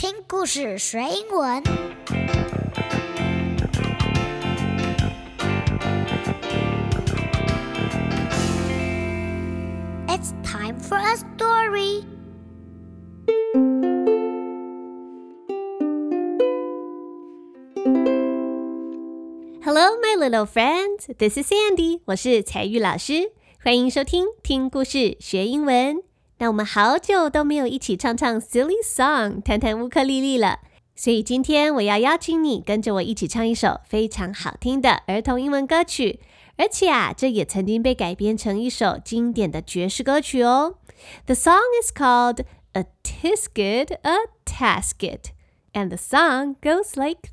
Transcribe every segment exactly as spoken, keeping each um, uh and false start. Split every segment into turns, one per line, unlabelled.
聽故事學英文。It's time for a story.
Hello, my little friends. This is Sandy. 我是采玉老師，歡迎收聽聽故事學英文。那我們好久都沒有一起唱唱 silly song， 彈彈烏克麗麗了，所以今天我要邀請你跟着我一起唱一首非常好聽的兒童英文歌曲，而且啊，這也曾經被改編成一首經典的爵士歌曲哦。The song is called A Tisket, a Tasket, and the song goes like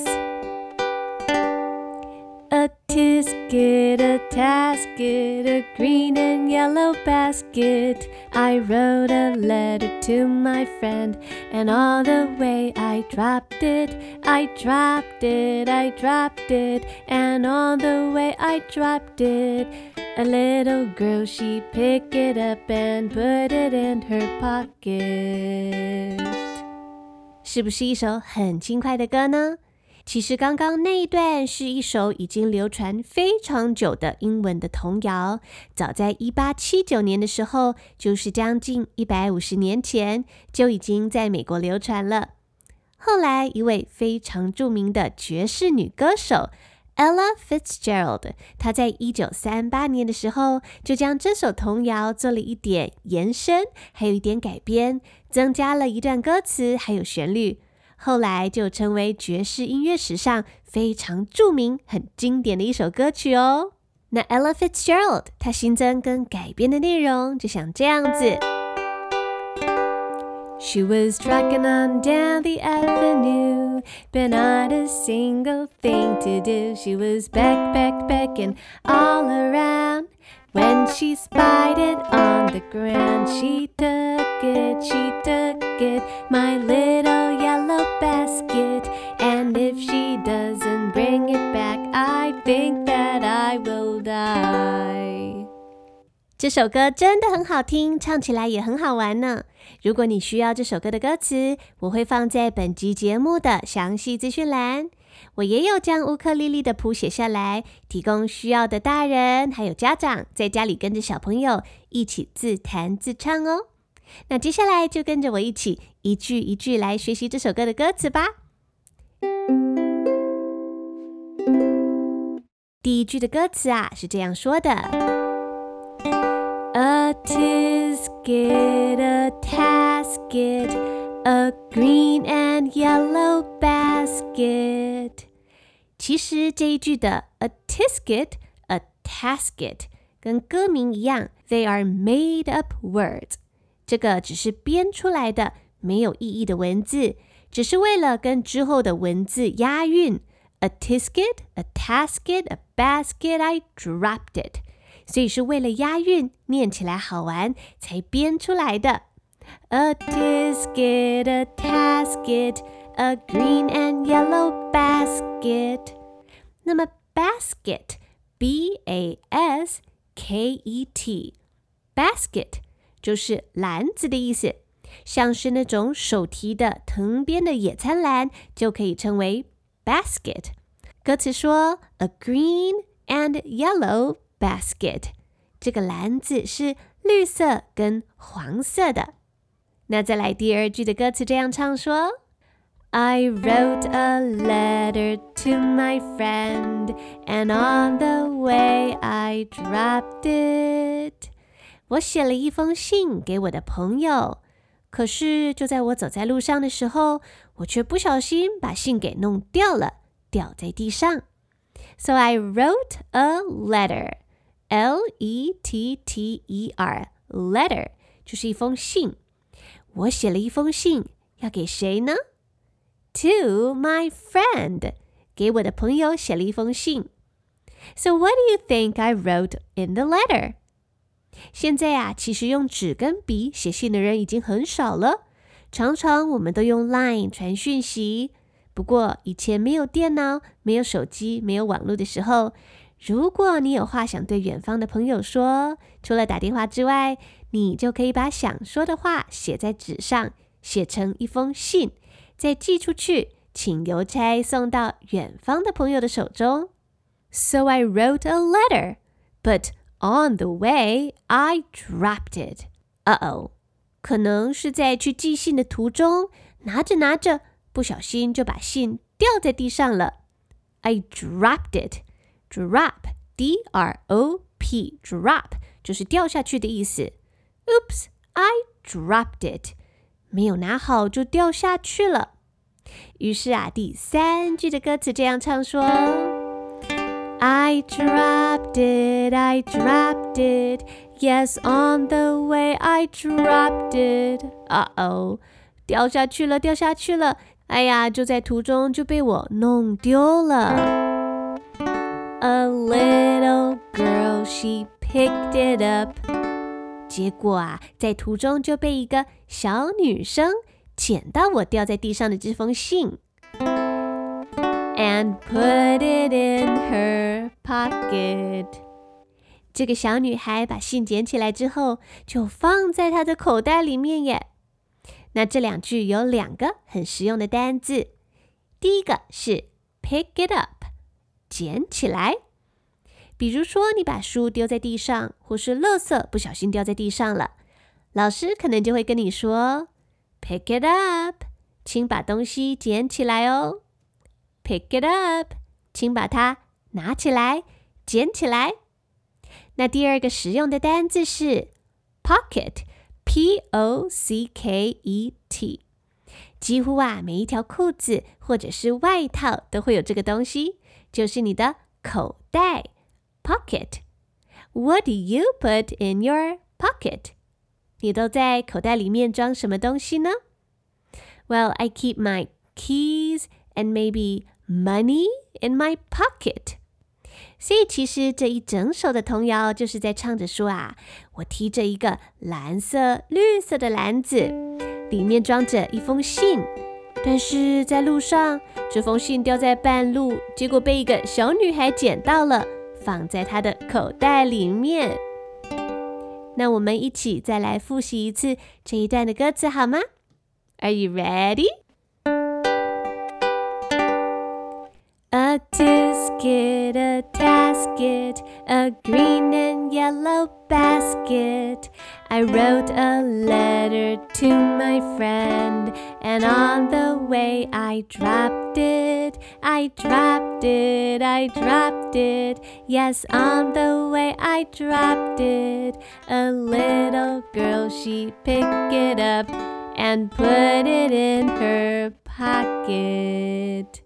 this.A tisket, a tasket, a green and yellow basket. I wrote a letter to my friend, and all the way I dropped it, I dropped it, I dropped it, and all the way I dropped it. A little girl, she picked it up and put it in her pocket. 是不是一首很輕快的歌呢？其實剛剛那一段是一首已經流傳非常久的英文的童謠，早在一八七九年的時候，就是將近一百五十年前，就已經在美國流傳了。後來一位非常著名的爵士女歌手 Ella Fitzgerald， 她在一九三八年的時候，就將這首童謠做了一點延伸，還有一點改編，增加了一段歌詞，還有旋律。後來就成為爵士音樂史上非常著名、很經典的一首歌曲哦。那 Ella Fitzgerald 她新增跟改編的內容就像這樣子。She was trucking on down the avenue, but not a single thing to do. She was back, back, backing all around. When she spied it on the ground, she took it, she took it, my little yellow basket. And if she doesn't bring it back, I think that I will die. 這首歌真的很好聽，唱起來也很好玩呢。如果你需要這首歌的歌詞，我會放在本集節目的詳細資訊欄。我也有將烏克麗麗的譜寫下來，提供需要的大人還有家長在家裡跟着小朋友一起自彈自唱哦。那接下來就跟着我一起一句一句來學習這首歌的歌詞吧。第一句的歌詞啊是這樣說的：A tisket, a tasket, a green and yellow basket. 其實這一句的 a tisket, a tasket 跟歌名一樣 they are made up words. 這個只是編出來的沒有意義的文字，只是為了跟之後的文字押韻。A tisket, a tasket, a basket, I dropped it. 所以是為了押韻，念起來好玩才編出來的。A tisket, a tasket, a green and yellow basket. 那麼 basket, B A S K E T, basket 就是籃子的意思，像是那種手提的藤編的野餐籃就可以稱為 basket。歌詞說 A green and yellow basket， 這個籃子是綠色跟黃色的。那再來第二句的歌詞這樣唱說 I wrote a letter to my friend, and on the way I dropped it. 我寫了一封信給我的朋友，可是就在我走在路上的時候，我卻不小心把信給弄掉了，掉在地上。So I wrote a letter, L E T T E R, letter 就是一封信。我寫了一封信，要給誰呢？ To my friend， 給我的朋友寫了一封信。So what do you think I wrote in the letter？ 現在啊，其實用紙跟筆寫信的人已經很少了，常常我們都用 Line 傳訊息。不過以前沒有電腦、沒有手機、沒有網絡的時候，如果你有話想對遠方的朋友說，除了打電話之外，你就可以把想說的話寫在紙上，寫成一封信， 再寄出去，請郵差送到遠方的朋友的手中。So I wrote a letter, but on the way, I dropped it. Uh-oh, 可能是在去寄信的途中，拿着拿着，不小心就把信掉在地上了。I dropped it. Drop, D R O P, drop 就是掉下去的意思。Oops, I dropped it. 沒有拿好就掉下去了。於是啊，第三句的歌詞這樣唱說：I dropped it, I dropped it. Yes, on the way I dropped it. Uh-oh, 掉下去了，掉下去了。哎呀，就在途中就被我弄丟了。A little girl, she picked it up. 結果啊，在途中就被一個小女生撿到我掉在地上的這封信 ，and put it in her pocket. 這個小女孩把信撿起來之後，就放在她的口袋裡面耶。那這兩句有兩個很實用的單字，第一個是 pick it up， 撿起來。比如說你把書丟在地上，或是垃圾不小心掉在地上了，老師可能就會跟你說 pick it up， 請把東西撿起來哦。pick it up， 請把它拿起來，撿起來。那第二個實用的單字是 pocket， P O C K E T。 幾乎啊，每一條褲子或者是外套都會有這個東西，就是你的口袋 pocket. What do you put in your pocket? 你都在口袋裡面裝什麼東西呢？ Well, I keep my keys and maybe money in my pocket. 所以其實這一整首的童謠就是在唱着說啊，我提着一個藍色、綠色的籃子，裡面裝着一封信，但是在路上，這封信掉在半路，結果被一個小女孩撿到了，放在她的口袋裡面。那我們一起再來複習一次這一段的歌詞好嗎？ Are you ready? A tisket, a tasket, a green and yellow basket. I wrote a letter to my friend, and on the way I dropped it. I dropped it, I dropped it. Yes, on the way I dropped it. A little girl, she picked it up and put it in her pocket.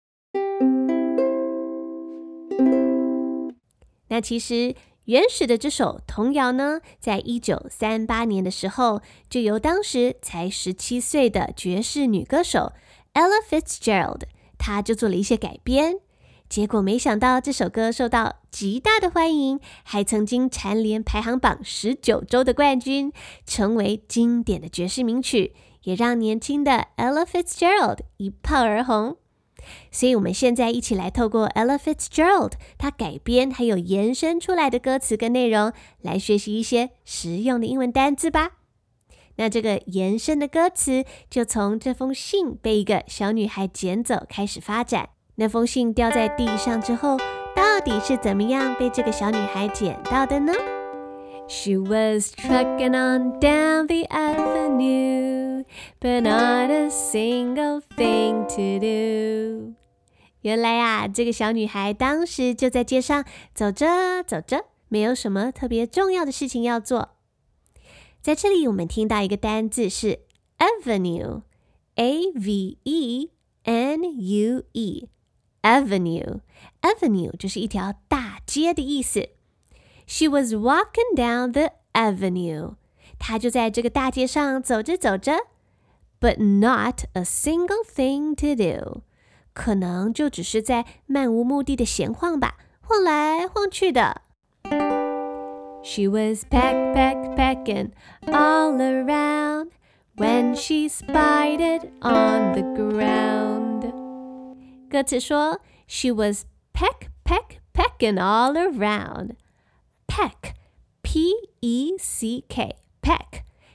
那其實原始的這首童謠呢，在一九三八年的時候，就由當時才十七歲的爵士女歌手 Ella Fitzgerald， 她就做了一些改編。結果沒想到這首歌受到極大的歡迎，還曾經蟬聯排行榜十九週的冠軍，成為經典的爵士名曲，也讓年輕的 Ella Fitzgerald 一炮而紅。所以我們現在一起來透過 Ella Fitzgerald 她改編還有延伸出來的歌詞跟內容，來學習一些實用的英文單字吧。那這個延伸的歌詞就從這封信被一個小女孩撿走開始發展。那封信掉在地上之後，到底是怎麼樣被這個小女孩撿到的呢？ She was trucking on down the avenue, but not a single thing to do. 原來啊，這個小女孩當時就在街上走着走着，沒有什麼特別重要的事情要做。在這裡我們聽到一個單字是 avenue, A V E N U E, avenue. Avenue 就是一條大街的意思。She was walking down the avenue. 她就在這個大街上走着走着 ，but not a single thing to do. 可能就只是在漫無目的的閒晃吧，晃來晃去的。She was peck, peck, pecking all around when she spied it on the ground. 歌詞說 She was peck, peck, pecking all around. Peck, P E C K, peck,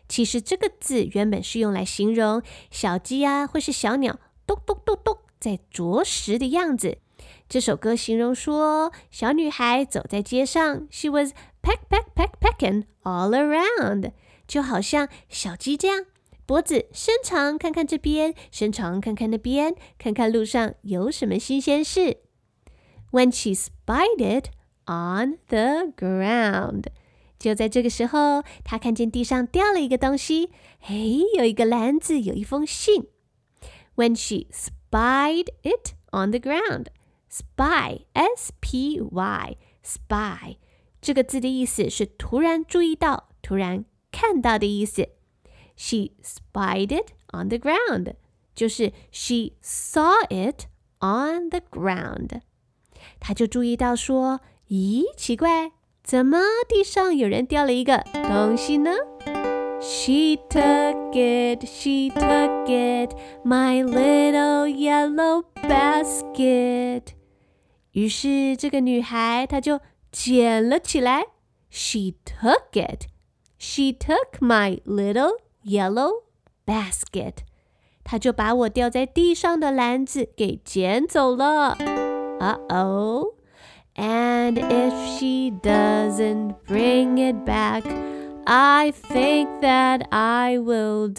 其實這個字原本是用來形容小雞啊，或是小鳥咚咚咚咚在啄食的樣子。這首歌形容說，小女孩走在街上 ，She was peck peck peck pecking all around， 就好像小雞這樣，脖子伸長，看看這邊，伸長看看那邊，看看路上有什麼新鮮事。When she spied it on the ground， 就在這個時候，她看見地上掉了一個東西，嘿，有一個籃子，有一封信。When she spied it on the ground，spy S P Y spy 這個字的意思是突然注意到，突然看到的意思。She spied it on the ground， 就是 she saw it on the ground。她就注意到說，咦，奇怪，怎麼地上有人掉了一個東西呢？ She took it, she took it, my little yellow basket。於是這個女孩她就撿了起來。She took it, she took my little yellow basket。她就把我掉在地上的籃子給撿走了。Uh-oh. And if she doesn't bring it back, I think that I will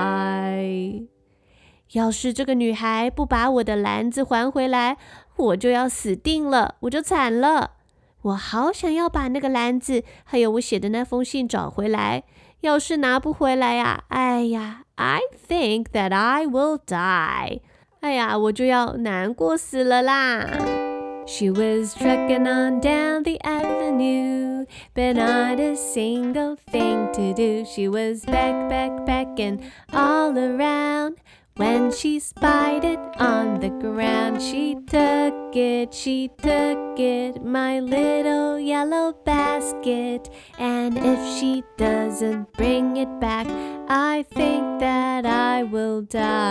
die. 要是這個女孩不把我的籃子還回來，我就要死定了，我就慘了。我好想要把那個籃子，還有我寫的那封信找回來。要是拿不回來呀，哎呀 I think that I will die. 哎呀，我就要難過死了啦。She was trucking on down the avenue, but not a single thing to do. She was back, back, backing all around. When she spied it on the ground, she took it, she took it, my little yellow basket. And if she doesn't bring it back, I think that I will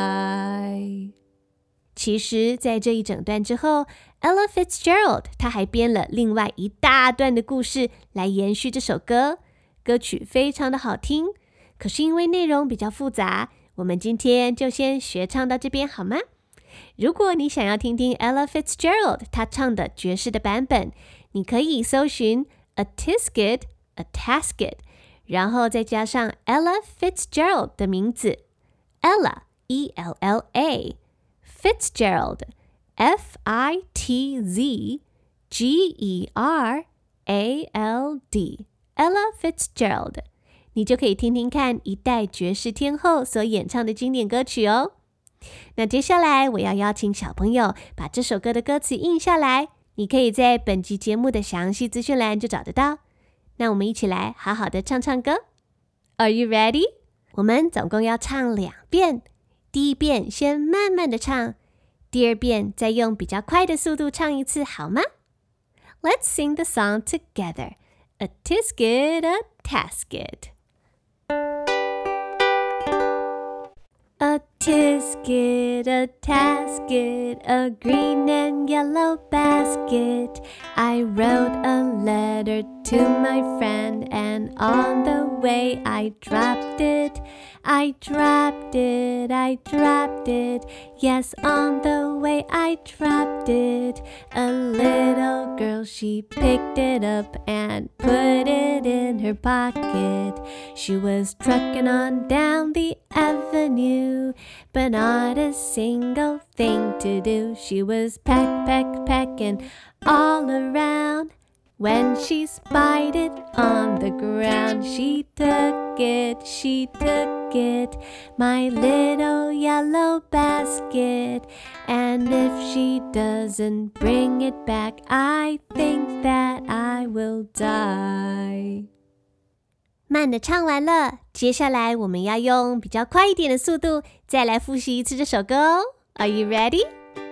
die. 其實在這一整段之後， Ella Fitzgerald 她還編了另外一大段的故事來延續這首歌。歌曲非常的好聽，可是因為內容比較複雜，我們今天就先學唱到這邊好嗎？如果你想要聽聽 Ella Fitzgerald 她唱的爵士的版本，你可以搜尋 A Tisket, A Tasket， 然後再加上 Ella Fitzgerald 的名字 Ella, E L L A Fitzgerald, F I T Z G E R A L D Ella Fitzgerald， 你就可以聽聽看一代爵士天后所演唱的經典歌曲哦。那接下來我要邀請小朋友把這首歌的歌詞印下來，你可以在本集節目的詳細資訊欄就找得到。那我們一起來好好的唱唱歌。Are you ready？ 我們總共要唱兩遍，第一遍先慢慢的唱，第二遍再用比較快的速度唱一次，好嗎？ Let's sing the song together. A tisket, a tasket. A tisket, a tasket, a green and yellow basket. I wrote a letter to my friend, and on the way I dropped it. I dropped it, I dropped it. Yes, on the way I dropped it. A little girl, she picked it up and put it in her pocket. She was trucking on down the avenue, but not a single thing to do. She was peck, peck, pecking all around. When she spied it on the ground, she took it, she took it, my little yellow basket. And if she doesn't bring it back, I think that I will die. 慢的唱完了，接下來我們要用比較快一點的速度再來複習一次這首歌哦。Are you ready?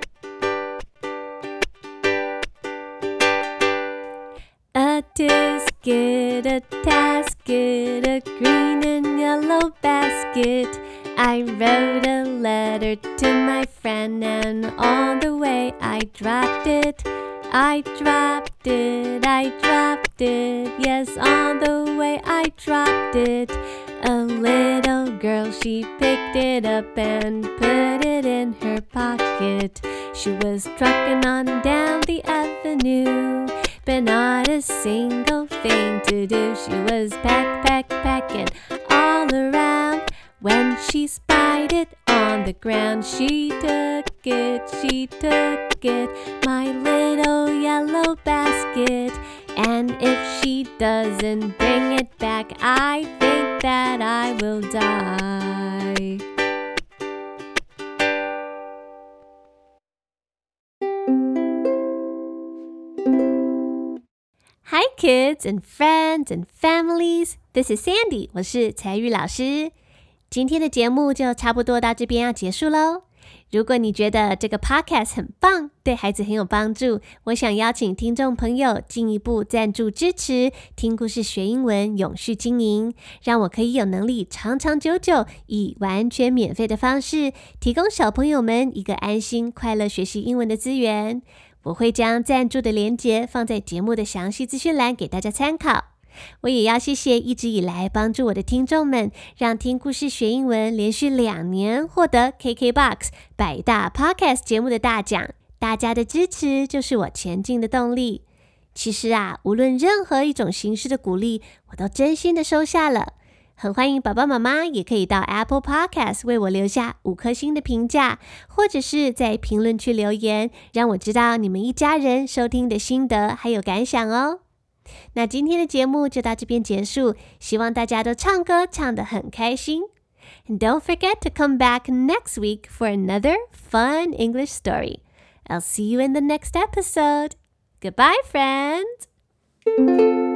A tisket, a tasket, a green and yellow basket. I wrote a letter to my friend, and on the way I dropped it. I dropped it, I dropped it. Yes, on the way I dropped it. A A little girl, she picked it up and put it in her pocket. She was trucking on down the avenue, but not a single thing to do. She was pack, pack, packing all around. When she spied it on the ground, she took it, she took it, my little yellow basket. And if she doesn't bring it back, I think that I will die. Hi kids and friends and families, this is Sandy, 我是采語老師。今天的節目就差不多到這邊要結束咯。如果你覺得這個 podcast 很棒，對孩子很有幫助，我想邀請聽眾朋友進一步贊助支持，聽故事學英文永續經營，讓我可以有能力長長久久以完全免費的方式，提供小朋友們一個安心快樂學習英文的資源。我會將贊助的連結放在節目的詳細資訊欄給大家參考。我也要謝謝一直以來幫助我的聽眾們，讓聽故事學英文連續兩年獲得 K K B O X 百大 Podcast 節目的大獎。大家的支持就是我前進的動力。其實啊，無論任何一種形式的鼓勵，我都真心的收下了。很歡迎爸爸媽媽也可以到 Apple Podcast 為我留下五顆星的評價，或者是在評論區留言，讓我知道你們一家人收聽的心得還有感想哦。那今天的節目就到這邊結束，希望大家都唱歌唱得很開心。And don't forget to come back next week for another fun English story. I'll see you in the next episode. Goodbye, friends!